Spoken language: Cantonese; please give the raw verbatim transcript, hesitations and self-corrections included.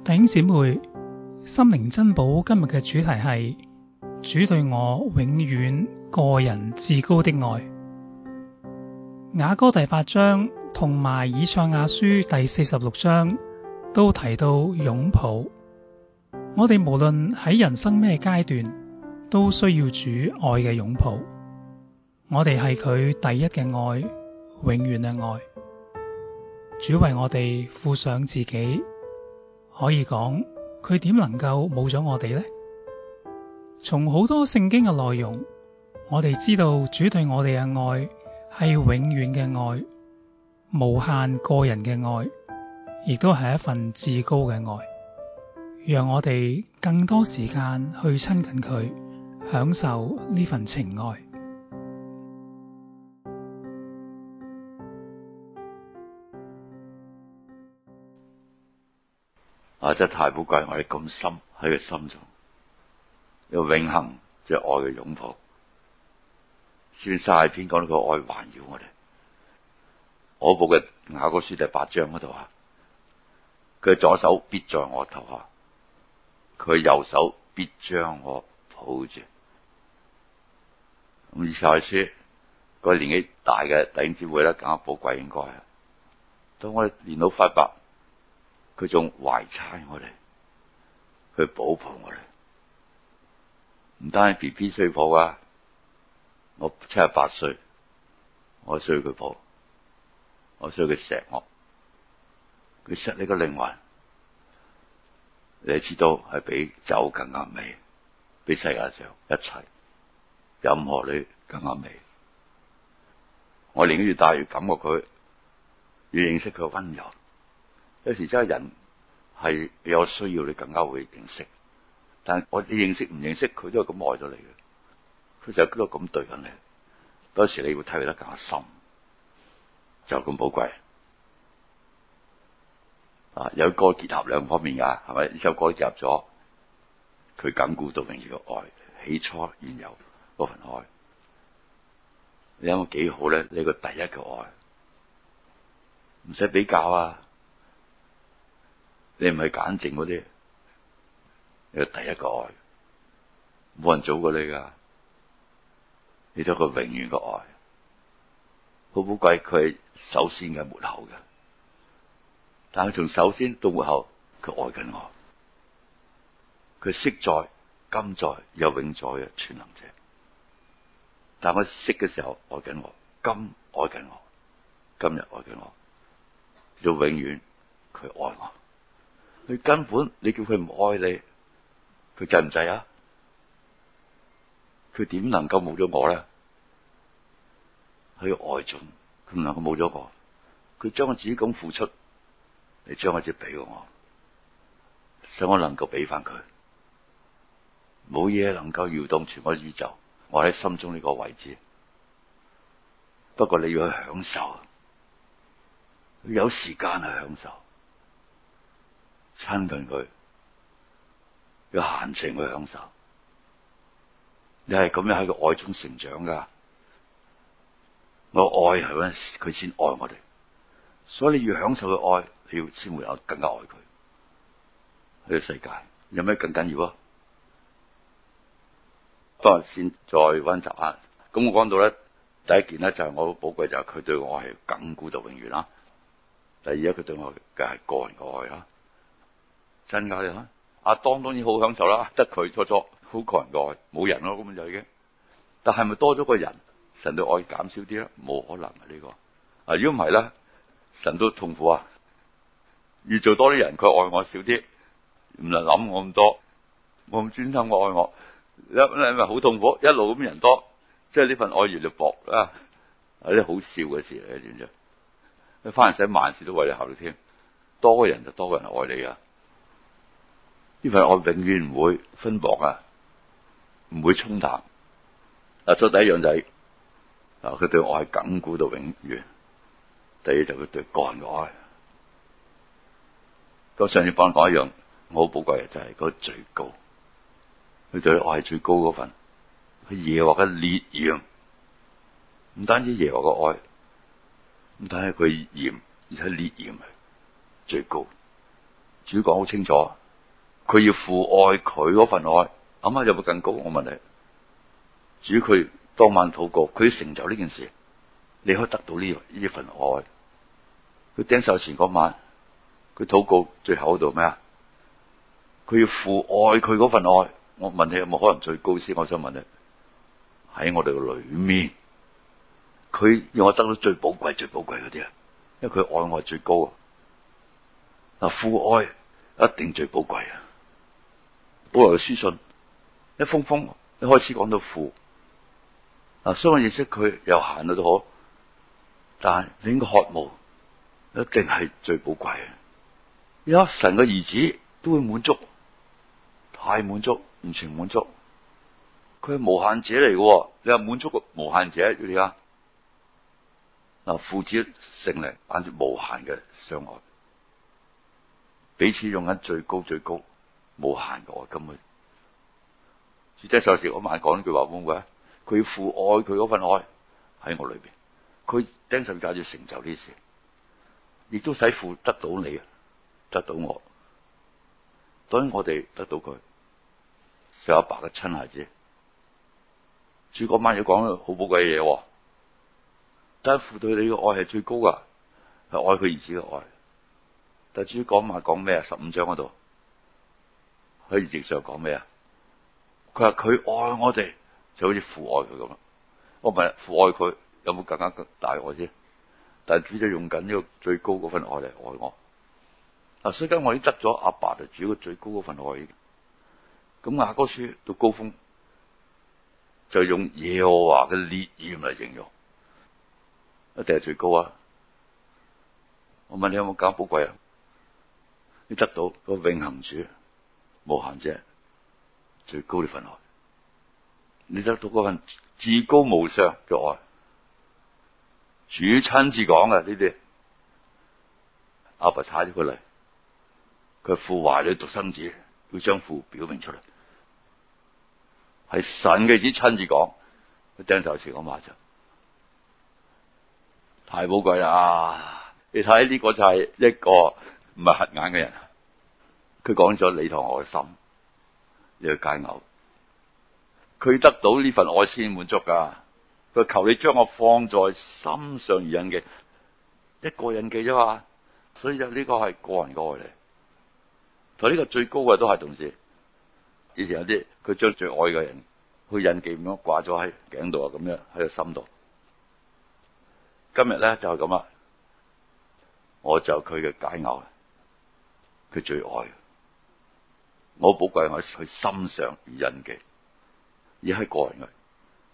弟兄姊妹，心靈珍寶今日嘅主題係主對我永遠個人至高的愛。雅歌第八章同埋以賽亞書第四十六章都提到擁抱。我哋無論喺人生咩階段，都需要主愛嘅擁抱。我哋係佢第一嘅愛，永遠嘅愛。主為我哋付上自己，可以講佢點能夠冇咗我哋呢？從好多聖經嘅內容，我哋知道主對我哋嘅愛係永遠嘅愛，無限個人嘅愛，亦都係一份至高嘅愛。讓我哋更多時間去親近佢，享受呢份情愛。 啊！真係太寶貴，我哋咁深喺佢心中，有永恆即係愛嘅擁抱。詩三十篇講到個愛環繞我哋。我部嘅雅歌書第八章嗰度啊，佢左手必在我頭下，佢右手必將我抱住。咁以賽亞書個年紀大嘅弟兄姊妹咧，更加寶貴應該啊。當我哋年老髮白，佢仲懷搋我哋，佢保抱我哋。唔單止 B B 需要抱啊，我七十八歲，我需要佢抱，我需要佢錫我，佢錫你個靈魂，你知道係比酒更加美，比世界上一切任何你更加美。我年紀越大越感覺佢，越認識佢嘅溫柔。有時真係人係有需要，你更加會認識。但係我你認識唔認識佢，都係咁愛咗你嘅。佢就都係咁對緊你。有時你會體會得更加深，就咁寶貴。啊，有歌結合兩方面噶，係咪？呢首歌結合咗佢亙古到永遠嘅愛，起初原有嗰份愛。你諗下幾好咧？你個第一嘅愛，唔使比較啊！你唔係簡淨嗰啲，你係第一個愛，冇人早過你噶，你都係個永遠嘅愛，好寶貴。佢係首先嘅，末後嘅，但係從首先到末後，佢愛緊我，佢昔在、今在、又永在嘅全能者。但係我識嘅時候愛緊我，今愛緊我，今日愛緊我，到永遠佢愛我。佢根本你叫佢唔愛你，佢制唔制啊？佢點能夠冇咗我咧？喺愛中，佢唔能夠冇咗我。佢將我自己咁付出，你將我自己俾我，使我能夠俾翻佢。冇嘢能夠搖動全個宇宙，我喺心中呢個位置。不過你要去享受，有時間去享受。親近佢，有閒情去享受。你係咁樣喺個愛中成長噶。我愛係嗰陣時佢先愛我哋，所以你要享受佢愛，你要先會有更加愛佢。呢個世界有咩更緊要啊？不過先再溫習下。咁我講到咧，第一件咧就係我好寶貴，就係佢對我係亙古到永遠啦。第二咧，佢對我嘅係個人嘅愛啦。真噶你睇，阿當當然好享受啦，得佢初初好個人嘅愛，冇人咯，根本就已經。但係咪多咗個人，神對愛減少啲咧？冇可能啊呢個。啊，如果唔係咧，神都痛苦啊。越做多啲人，佢愛我少啲，唔能諗我咁多，我咁專心我愛我，你你咪好痛苦。一路咁人多，即係呢份愛越嚟越薄啊，係啲好笑嘅事嚟嘅，知唔知？你翻嚟使萬事都為你考慮添，多個人就多個人愛你啊。呢份愛永遠唔會分薄啊，唔會沖淡。嗱，所以第一樣就係、是，啊，佢對我係亙古到永遠。第二就佢對個人嘅愛。咁上次幫你講一樣，我好寶貴嘅就係嗰個最高。佢對我係最高嗰份，佢耶和華嘅烈焰，唔單止耶和華嘅愛，唔單止佢嚴，而且烈焰係最高。主講好清楚。 佢要父愛佢嗰份愛，諗下有冇更高？我問你，主佢當晚禱告，佢要成就呢件事，你可以得到呢呢份愛。佢釘十字架前嗰晚，佢禱告最後嗰度咩啊？佢要父愛佢嗰份愛。我問你有冇可能最高先？我想問你，喺我哋嘅裏面，佢要我得到最寶貴、最寶貴嗰啲啊，因為佢愛我係最高啊。嗱，父愛一定最寶貴啊！保羅嘅書信一封封一開始講到父，嗱，雖然我認識佢有限到都好，但係你應該渴慕，一定係最寶貴啊！而家神嘅兒子都會滿足，太滿足，唔全滿足。佢係無限者嚟嘅，你話滿足個無限者，你啊，嗱，父子聖靈簡直無限嘅相愛，彼此用緊最高最高無限嘅愛，根本。主釘十字架嗰晚講呢句話會唔會啊？佢要父愛佢嗰份愛喺我裏邊，佢釘十字架要成就呢事，亦都使父得到你，得到我，當然我哋得到佢，係阿爸嘅親孩子。主嗰晚要講好寶貴嘅嘢，但係父對你嘅愛係最高噶，係愛佢兒子嘅愛。但係主嗰晚講咩啊？十五章嗰度喺異象上講咩啊？佢話佢愛我哋就好似父愛佢咁啦。我問父愛佢有冇更加大愛先？但係主就用緊呢個最高嗰份愛嚟愛我。嗱，所以今我已經得咗阿爸就主嘅最高嗰份愛。咁雅歌書到高峰就用耶和華嘅烈焰嚟形容，一定係最高啊！我問你有冇搞寶貴啊？你得到個永恆主無限者最高呢份愛，你得到嗰份至高無上嘅愛，主親自講嘅呢啲，阿爸差咗佢嚟，佢父懷裏獨生子，要將父表明出嚟。係神嘅子親自講，佢釘十字架嗰晚就太寶貴啦！你睇呢個就係一個唔係瞎眼嘅人，佢講咗你同我嘅心，呢個佳偶，佢得到呢份愛先滿足噶。佢求你將我放在心上而印記，一個印記啫嘛。所以就呢個係個人嘅愛嚟，同呢個最高嘅都係同時。以前有啲佢將最愛嘅人去印記咁樣掛咗喺頸度啊，咁樣喺個心度。今日咧就係咁啦，我就佢嘅佳偶，佢最愛，我寶貴我去心上而印記，而係個人嘅。